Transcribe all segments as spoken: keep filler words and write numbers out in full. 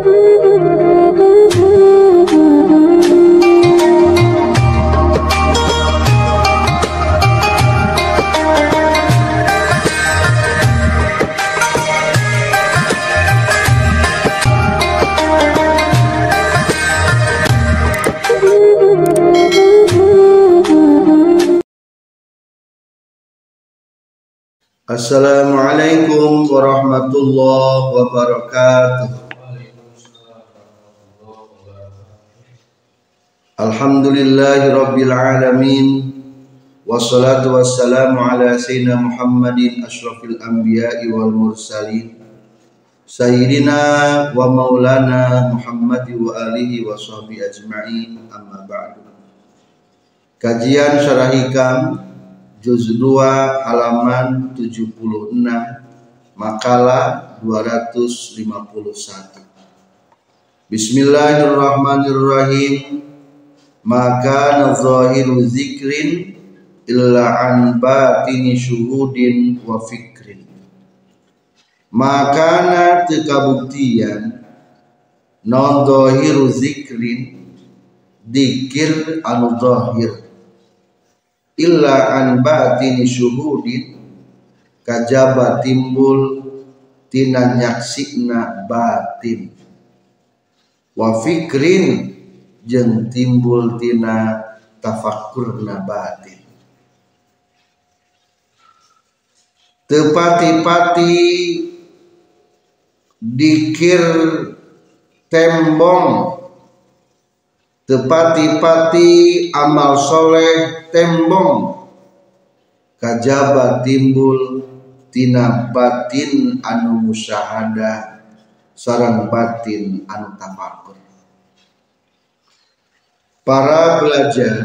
Assalamualaikum warahmatullahi wabarakatuh. Alhamdulillahi rabbil alamin. Wassalatu wassalamu ala sayyidina Muhammadin asyrafil anbiya'i wal mursalin sayyidina wa maulana Muhammadi wa alihi wa sahbihi ajma'in, amma ba'du. Kajian Syarah Hikam Juz dua halaman tujuh puluh enam, makalah dua ratus lima puluh satu. Bismillahirrahmanirrahim. Maka zahiru zikrin illa an batini syuhudin wa fikrin. Maka tekabuktian non zahiru zikrin dikir anu zahir illa an batini syuhudin kajaba timbul tina nyaksina batin wa fikrin jeung timbul tina tafakkurna batin. Teu pati-pati dikir tembong, tepati-pati amal soleh tembong, kajaba timbul tina batin anu musyahadah sareng batin anu tafakur. Para belajar,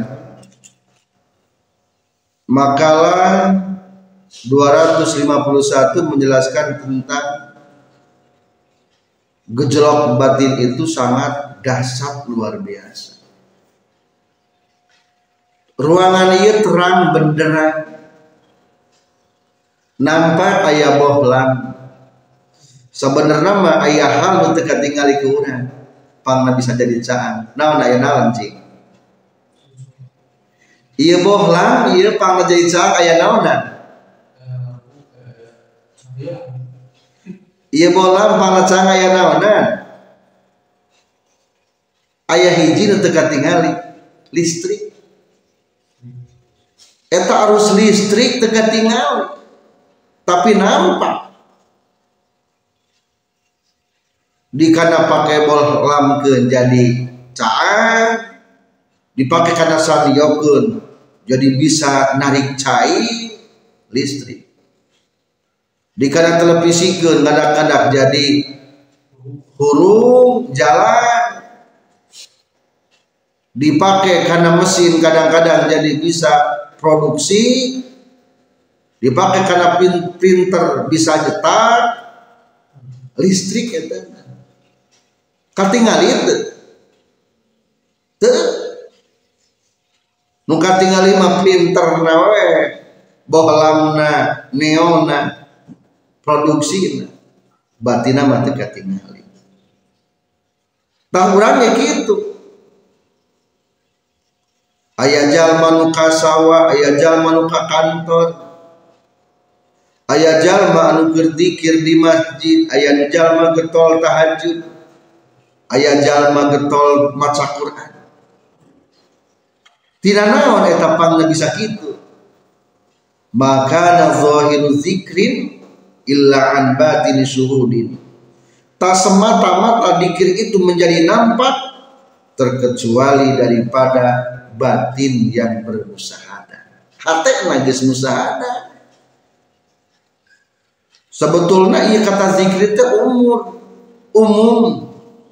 makalah dua ratus lima puluh satu menjelaskan tentang gejolak batin itu sangat dahsyat, luar biasa. Ruangan ieu terang benderang, nampak aya bohlam. Sebenarnya mah aya hal nu teu katingali ku urang, pangna bisa jadi caan. Naon aya naon cing? Ieu bohlam, ieu pangna jadi caan aya naonna? Ieu bohlam pangna caan aya naonna? Aya hiji nu teu katingali, listrik. Eta arus listrik teu katingali, tapi nampak. Dikana pake bohlamkeun jadi caan, dipake kana saniokeun jadi bisa narik cai listrik. Dikana televisikeun ngadak-ngadak jadi hurung jalan. Dipake karena mesin kadang-kadang jadi bisa produksi. Dipake karena printer bisa nyetak listrik eta. Katingali teu? Teu. Nu katingali mah printerna we, bohlamna, neonna, produksina. Batina mah teu katingali. Tah urang ge kitu. Aya jalma nu ka sawah, aya jalma nu ka kantor, aya jalma anu keur dzikir di masjid, aya jalma getol tahajud, aya jalma getol maca Quran. Tina naon eta pangna bisa kitu? Maka zahiru zikrin illa an batini syuhudin. Tak semata-mata dikir itu menjadi nampak terkecuali daripada batin yang bermusahadah. Hate magis musahadah. Sebetulnya ieu kata zikir teh umur umum.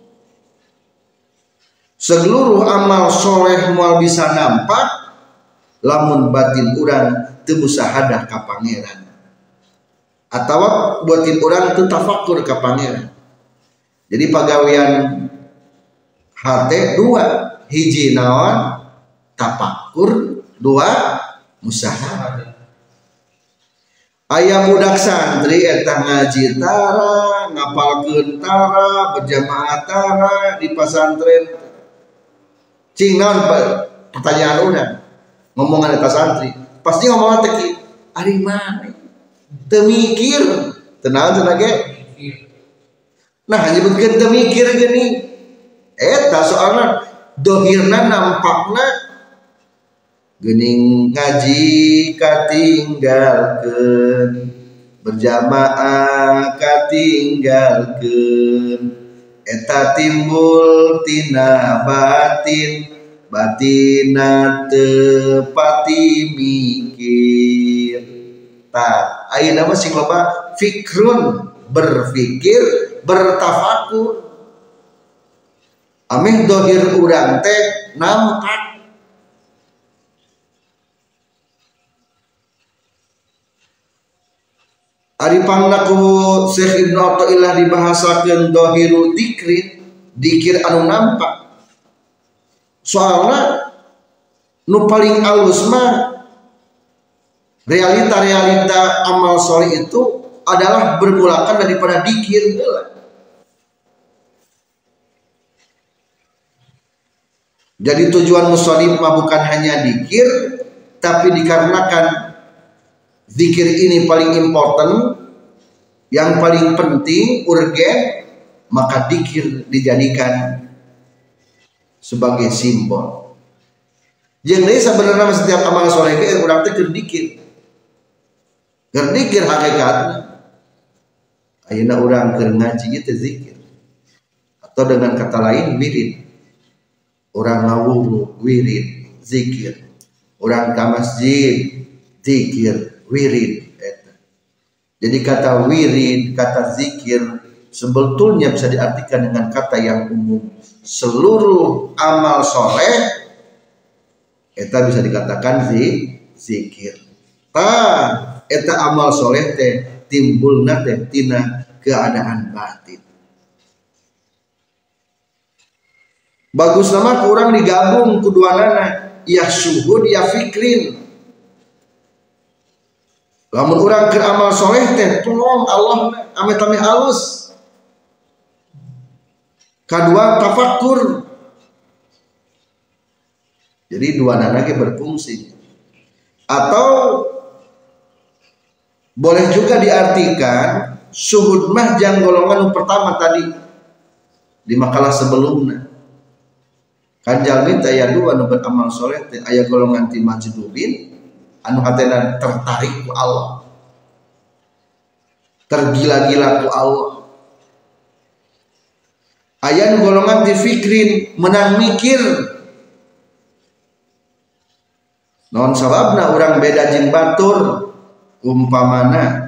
Seluruh amal soleh moal bisa nampak lamun batin urang teu musahadah ka pangeran. Atawa batin urang teu tafakkur ka pangeran. Jadi pagawean hate dua, hiji naon? Tafakur, dua musahadah. Aya budak santri eta ngaji tara, ngapalkeun tara, berjamaah tara di pesantren. Cing naon pertanyaan urang. Ngomongan eta santri, pasti ngomongan teh kieu, ari mane? Teu mikir, teu naon cenah ge? Nah, nyebutkeun teu mikir geuning. Eta soalna dohirna nampakna geuning ngaji katinggalkeun, berjamaah katinggalkeun, eta timbul tina batin, batina teu pati mikir. Tah ayeuna mah sing loba fikrun, berfikir, bertafakur. Ameh dohir urang teh nampak. Ari pangna ku Syekh Ibnu Athaillah dibahasakeun dohiru dikri, dikir anu nampak. Soalna nu paling alus mah realita-realita amal soleh itu adalah bermulakan daripada dikir heula. Jadi tujuan musholli mah bukan hanya dikir, tapi dikarenakan zikir ini paling important, yang paling penting, urgen, maka dikir dijadikan sebagai simbol. Jadi sebenarnya setiap amal soleh itu urang teh keur dikir, keur dikir hakikatna. Ayeuna urang keur ngaji itu zikir, atau dengan kata lain wirid. Orang ngawuhu wirid zikir, orang ke masjid zikir wirid. Jadi kata wirid, kata zikir sebetulnya bisa diartikan dengan kata yang umum. Seluruh amal soleh eta bisa dikatakan zi, zikir. Tah eta amal soleh teh timbulna teh tina keadaan batin. Bagus nama kurang digabung keduanana, ya syuhud ya fikrin. Lamun urang keur amal soleh teh tolong Allah ame tami halus. Kadua tafakur. Jadi dua nana ge berfungsi. Atau boleh juga diartikan syuhud mah jang golongan pertama tadi di makalah sebelumnya. Kan jalmi teh aya dua anu beramal soleh teh, aya golongan ti majdubin anu hatena tertarik ku Allah, tergila-gila ku Allah. Aya nu golongan ti fikrin, menang mikir. Naon sababna urang beda jeung batur umpamana,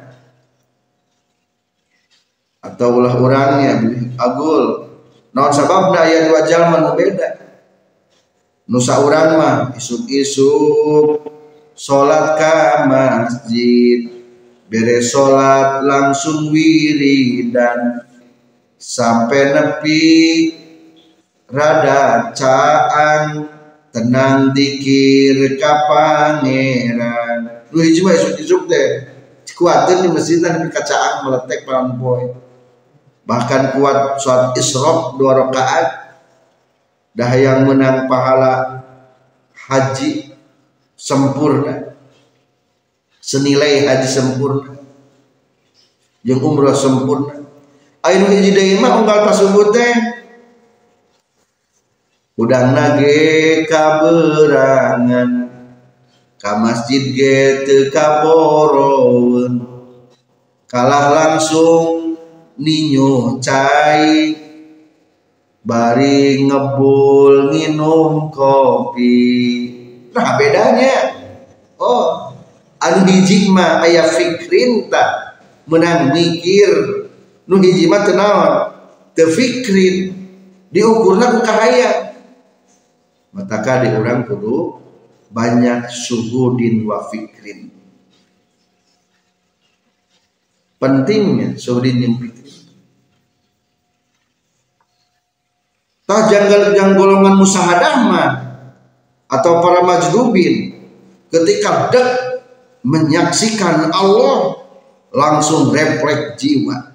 atau ulah urangnya agul. Naon sababna aya dua jalma nu beda. Nusa urang mah isuk-isuk salat ka masjid, beres salat langsung wiridan sampai nepi rada caang tenang dikir ka pangeran. Nu hiji mah isuk-isuk teh kuateun di masjid nepi ka caang meletek palampoe. Bahkan kuat salat Isra dua rakaat. Dah yang menang pahala haji sempurna, senilai haji sempurna, jeung umrah sempurna. Anu hiji deui mah unggal tasebut teh udangna ge kaberangan, ka masjid ge teu kaboroeun, kalah langsung ninyo cai bari ngebul nginum kopi. Nah bedanya, oh anu hiji mah aya fikrin tak menang mikir, nu hiji mah teu naon teu fikrin, diukurna ku kahayang. Mataka di urang kudu banyak suhudin wa fikrin. Pentingnya suhudin jeung fikrin. Tah janggal yang golongan musahadah mah atau para majdubin ketika dek menyaksikan Allah langsung refleks jiwa.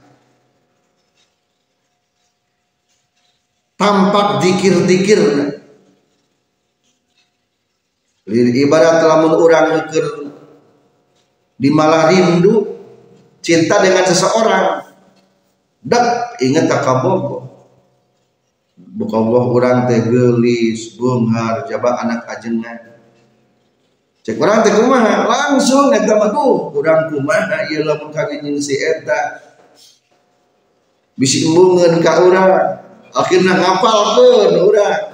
Tampak dikir-dikir. Ibarat lamun urang keur di malah rindu cinta dengan seseorang, dak inget kakabogo. Buka Allah urang teh geulis, beunghar, jaba anak ajengan. Cek urang teh kumaha? Langsung eta mah tuh, urang kumaha ieu lamun kawin jeung si eta. Bisi embungeun ka urang. Akhirnya ngapalkeun urang.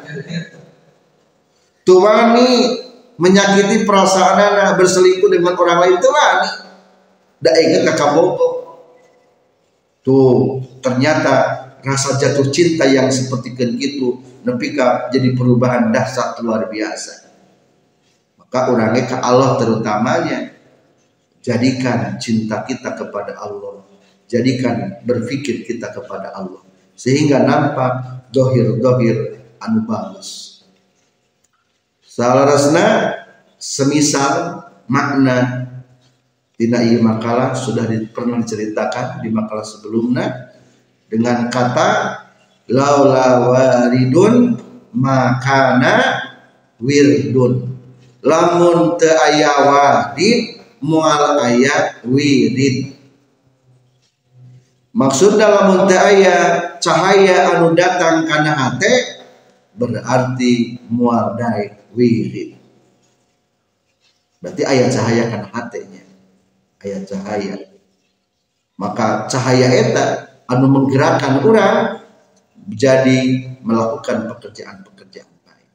Tuh wani menyakiti perasaan anak berselingkuh dengan orang lain tuh wani. Da inget kakabogo. Tuh ternyata rasa jatuh cinta yang seperti itu nepi ka jadi perubahan dahsyat luar biasa. Maka orangnya ke Allah terutamanya, jadikan cinta kita kepada Allah, jadikan berpikir kita kepada Allah, sehingga nampak dohir-dohir anu bagus. Salarasna semisal makna tina ieu makalah sudah di, pernah diceritakan di makalah sebelumnya dengan kata laula waridun makana wirdun. Lamun teu aya wadid moal aya wirid. Maksudna lamun teu aya cahaya anu datang kana hate berarti moal daek wirid. Berarti aya cahaya kana hatenya. Aya cahaya. Maka cahaya eta anu menggerakkan orang jadi melakukan pekerjaan-pekerjaan baik.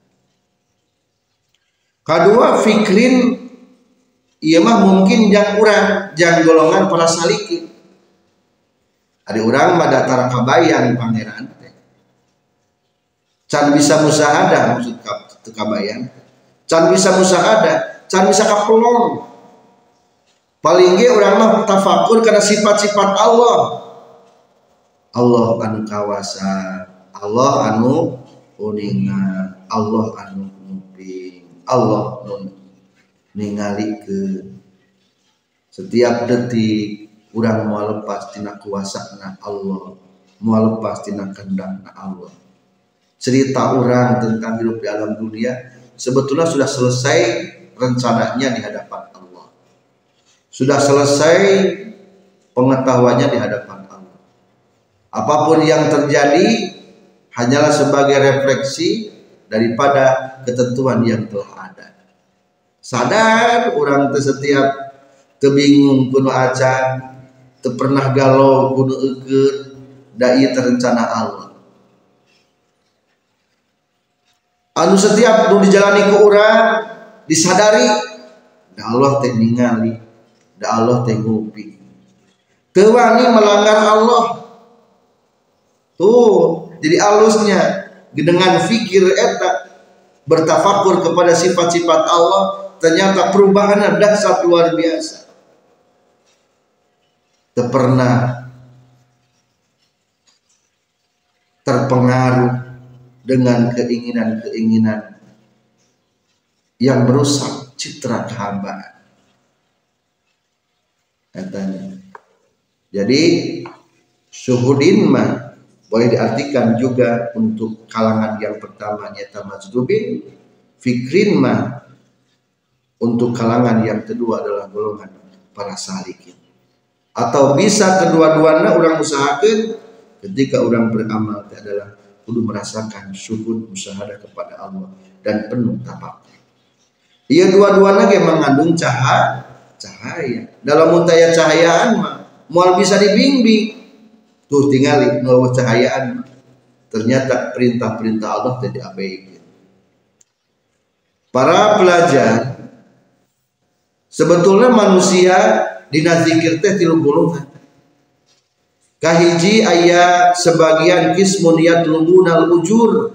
Kedua, fikrin ieu mah mungkin jang urang, jang golongan para salikin. Ari urang mah datara kabayang pangeran teh. Can bisa musahadah maksud teu kabayang. Can bisa musahadah, can bisa kapelong. Paling ge urang mah tafakur kana sifat-sifat Allah. Allah anu kawasa, Allah anu uningan, Allah anu nguping, Allah anu ningalikeun. Setiap detik urang moal lepas tina kuasana Allah, moal lepas tina kehendakna Allah. Cerita urang tentang hidup di alam dunia sebetulnya sudah selesai rencananya di hadapan Allah. Sudah selesai pengetahuannya di hadapan Allah. Apapun yang terjadi hanyalah sebagai refleksi daripada ketentuan yang telah ada. Sadar orang teu setiap teu bingung kudu acan, teu pernah galau kudu eukeut, da ieu terencana Allah. Anu setiap nu dijalani ku urang disadari da Allah teh ningali, da Allah teh nguping. Teu wani melanggar Allah. Tuh, jadi alusnya dengan fikir eta bertafakur kepada sifat-sifat Allah, ternyata perubahannya dahsyat luar biasa. Teu pernah terpengaruh dengan keinginan-keinginan yang merusak citra kehambaan. Katanya. Jadi syuhudin mah boleh diartikan juga untuk kalangan yang pertama nyata majdubin, fikrin mah untuk kalangan yang kedua adalah golongan para salikin. Atau bisa kedua-duanya orang usahakan ketika orang beramal adalah kudu merasakan syuhud musyahadah kepada Allah dan penuh tafakur. Ia dua-duanya ge mengandung cahaya, cahaya. Dalam muntaya cahayaan mah moal bisa dibimbing. Tuh tingali nu cahayaan ternyata perintah-perintah Allah teh diabaikeun. Para pelajar, sebetulnya manusia dina zikir teh tilu golongan. Kahiji aya sebagian kismun yatlubunal ujur.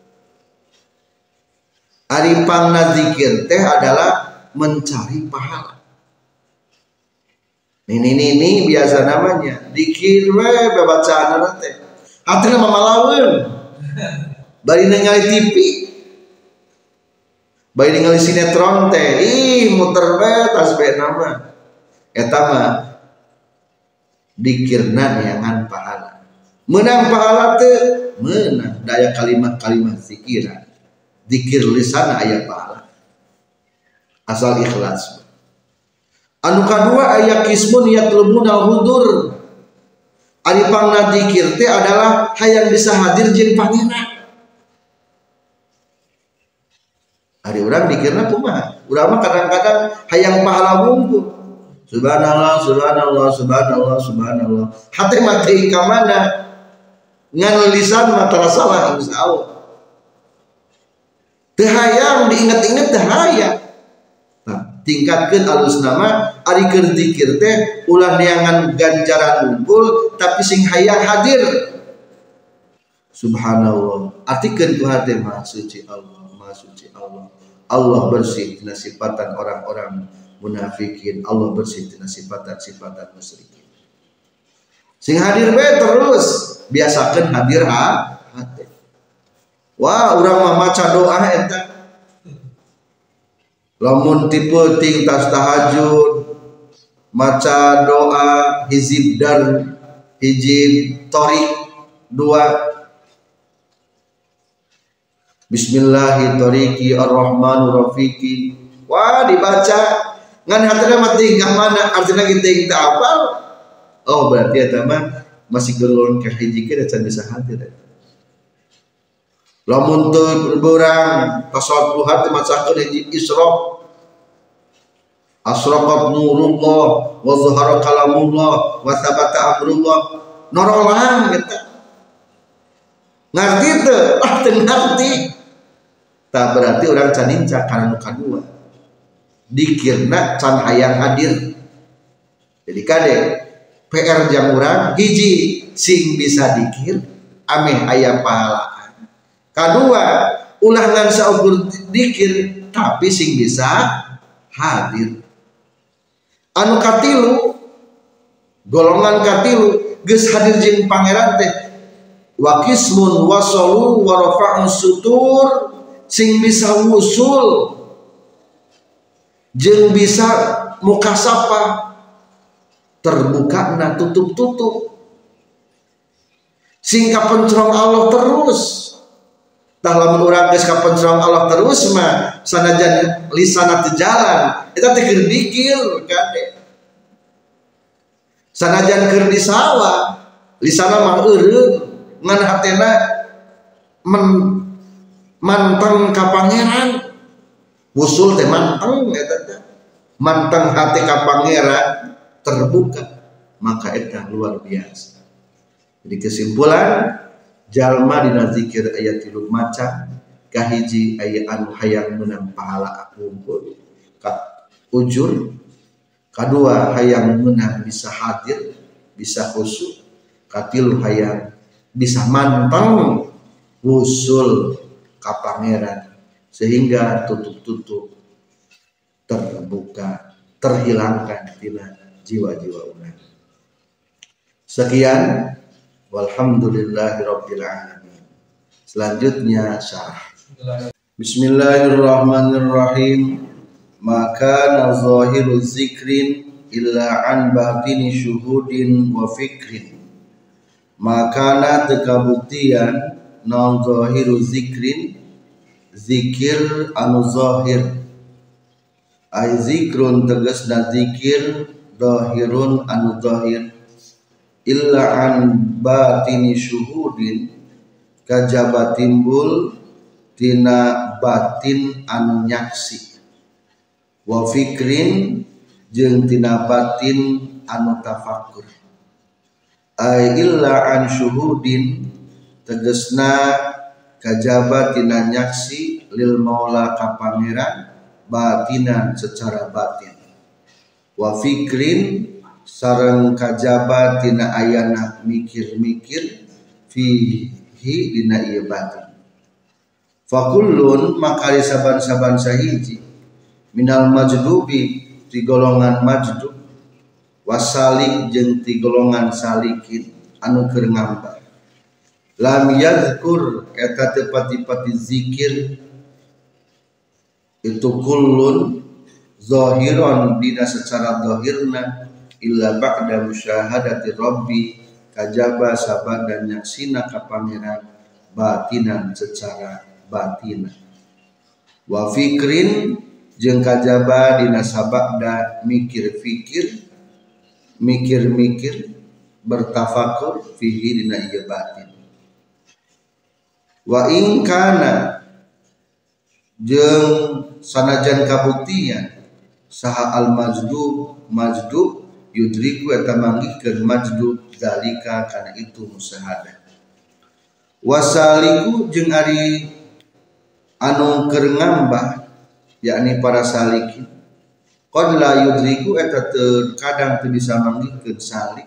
Ari pangna zikir teh adalah mencari pahala. Ini ini ini biasa namanya dikir we babacaan teh. Hatina mamalaweun. Bari ningali T V. Bari ningali sinetron teh, ih muter we tas bae nama. Eta mah dikirna neangan pahala. Menang pahala teu menang daya kalimat-kalimat zikiran. Zikir lisan aya pahala. Asal ikhlas. Anu kadua aya kismun yatlubuna hudur. Ari pangna zikir teh adalah hayang bisa hadir jeung pangeran. Ari urang zikirna kumaha? Urang mah kadang-kadang hayang pahala wungkul. Subhanallah, subhanallah, subhanallah, subhanallah. Hati mati ka mana? Ngan lisan mah tarasalah insyaallah. Teu hayang diinget-inget teu hayang. Nah, tingkatkeun alus nama ari keur zikir teh ulah neangan ganjaran unggul tapi sing hayang hadir. Subhanallah. Artikeun ku hate mah suci Allah, maha suci Allah. Allah bersih tina sifatan orang-orang munafikin, Allah bersih tina sifatan-sifatan musyrikin. Sing hadir we terus biasakeun hadir ha hate. Wah, urang mah maca doa eta. Lamun tipe ting tas tahajud maca doa hizib dan hizib torik dua Bismillahirrahmanirrahim ar-Rahmanir-Rahim. Wah, dibaca ngan hatena mah tingkah mana artina geuting teu apal. Oh, berarti eta mah masih golongan ka hiji ke can bisa hadir. Lamun teu beurang tasawuf duha teh macakeun hiji Isra. Asraqat nurullah wa zahara kalamullah wa thabata amrullah. Norolang eta. Ngarti teu? Ah, teu ngarti. Tak berarti orang caninca karena nu kadua. Dikirna can hayang hadir. Jadi kade P R jang urang hiji sing bisa dikir ameh aya pahalaan. Kadua ulah ngan saukur dikir tapi sing bisa hadir. Anu katilu golongan katilu geus hadir jeung pangeran teh wa qismun wasalu wa rafa'u sutur sing bisa wusul jeung bisa mukasafah terbuka na tutup-tutup sing kapencerong Allah terus. Tah lamun urang geus kapencerong Allah terus mah sanajan lisana teu jalan eta teh keur dikir kade. Sanajan keur di sawah lisana mah eureun ngan hatena men manteng ka pangeran. Wusul teh manteng eta teh. Manteng hati ka pangeran terbuka, maka eta luar biasa. Jadi kesimpulan jalma dina zikir aya tilu macam. Kahiji aya anu hayang meunang pahala unggul ka ujur. Kadua hayang meunang bisa hadir, bisa khusyuk. Katilu hayang bisa manteng wusul ka pangeran sehingga tutup-tutup terbuka, terhilangkan dina jiwa-jiwa urang. Sekian, walhamdulillahirabbil alamin. Selanjutnya syarah. Bismillahirrahmanirrahim. Maka zahiru zikrin illa an batini syuhudin wa fikrin. Maka tekabuktian non zahiru zikrin zikir anu zahir. Ai zikrun tegasna zikir zahirun anu zahir illa an batini syuhudin kajaba timbul tina batin anu nyaksi wa fikrin jeung tina batin anu tafakkur. Ai illa an syuhudin tegasna kajaba tina nyaksi lil maula ka pangeran batinan secara batin wa fikrin sareng kajaba tina ayana mikir-mikir fihi dina ieu batin. Fakullun makari saban-saban sahiji minal majdubi ti golongan majdub wasalik jeung ti golongan salikin anu keur ngambar lam yadhkur eta teu pati-pati zikir itu kullun zahiron dina secara zahirna illa ba'da musyahadati rabbi kajaba sabar dan nyaksina ka pangeran batinan secara batinan wa fikrin jeung kajaba dina sabada mikir-fikir mikir-mikir bertafakur fihi dina ieu batin wa in kana jeung sanajan kabuktian saha al majdub majdub yudriku eta manggihkeun majdub zalika kana itu musyahadah wasaliku jeung ari anu keur ngambah yakni para salikin qad la yudriku eta terkadang teu bisa manggihkeun salik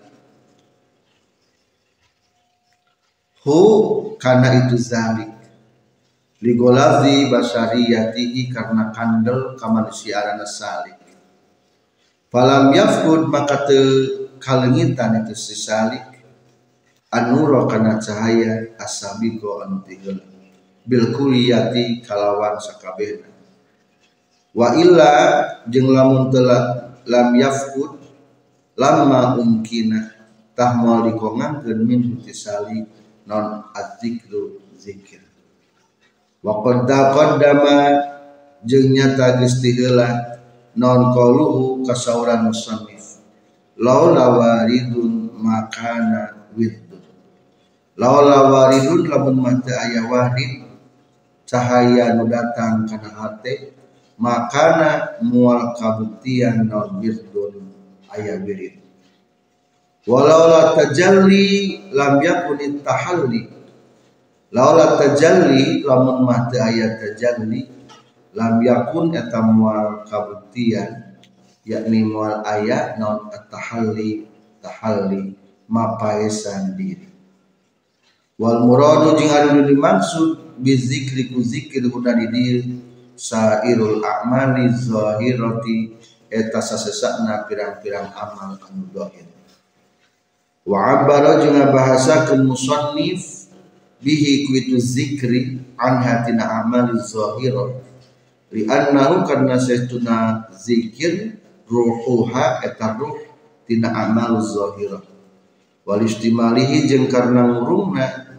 hu kana itu zalik ligolazi basyariyatihi karena kandel kamanusiaan salik falam yafkud maka teu kalengitan itu si salik anura kana cahaya asabiqo anu tinggal bil kuliyati kalawan sakabehna wa illa jeung lamun telah lam yafkud lamma umkina tah moal dikongankeun min salik non adzikru zikir wa qad taqaddama jeung nyata geus ti heula non qaluhu kasauran musannif laula waridun makana wirdun laula waridun lamun mata aya warid cahaya nu datang kana hate makana mual kabuktian non wirdun aya wirid walau la tajalli lam yakun tahalli laula tajalli lamun mah teu aya tajalli lam yakun eta moal kabuktian yakni moal aya naon tahalli tahalli mapaesan diri wal muradu jeung anu dimaksud bizikri ku zikir kuda di dieu sairul a'mali zahirati eta sasesakna pirang-pirang amal anu zahir wa abara jeung bahasakeun musannif bihi kuitu zikri an hatina amali zahirah li annahu karna saytuna zikir ruhuha eta ruh tina amal zahirah wal istimalihi jeung karna ngurungna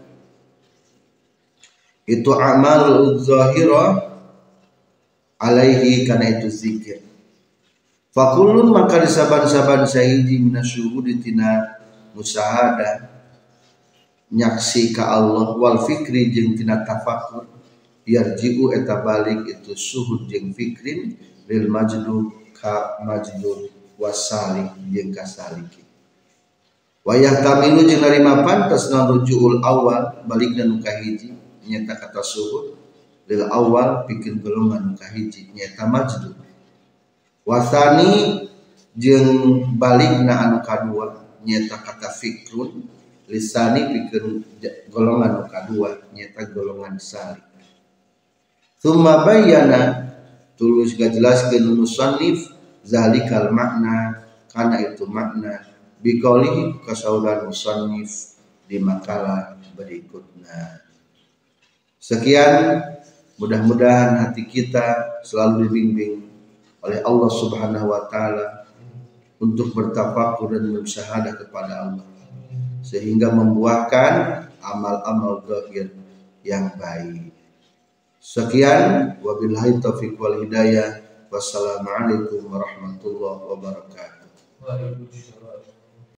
itu amal zahirah alaihi kana itu zikir fakullun maka disaban-saban sahiji minasyuhudi tina musyahadah nyaksi ka Allah wal fikri jeung tina tafakur yarji'u eta balik itu suhud jeung fikrin lil majdub ka majdub wasalik jeung ka saliki wa yahtamilu jeung narima pantas naon rujuul awal balik dan nu kahiji nyata kata suhud lil awal pikeun golongan nu kahiji nyata majdub wasani jeung balikna anu kadua nyata kata fikrun lisani pikeun golongan kadua nyata golongan salik tsumma bayyana tulus gajelaskeun musannif zalikal makna kana itu makna biqaulihi kasaulan musannif di makalah berikutnya. Sekian, mudah-mudahan hati kita selalu dibimbing oleh Allah Subhanahu wa taala untuk bertafakur dan bersyahadah kepada Allah sehingga membuahkan amal-amal zahir yang baik. Sekian, wabillahi taufiq wal hidayah. Wassalamualaikum warahmatullahi wabarakatuh.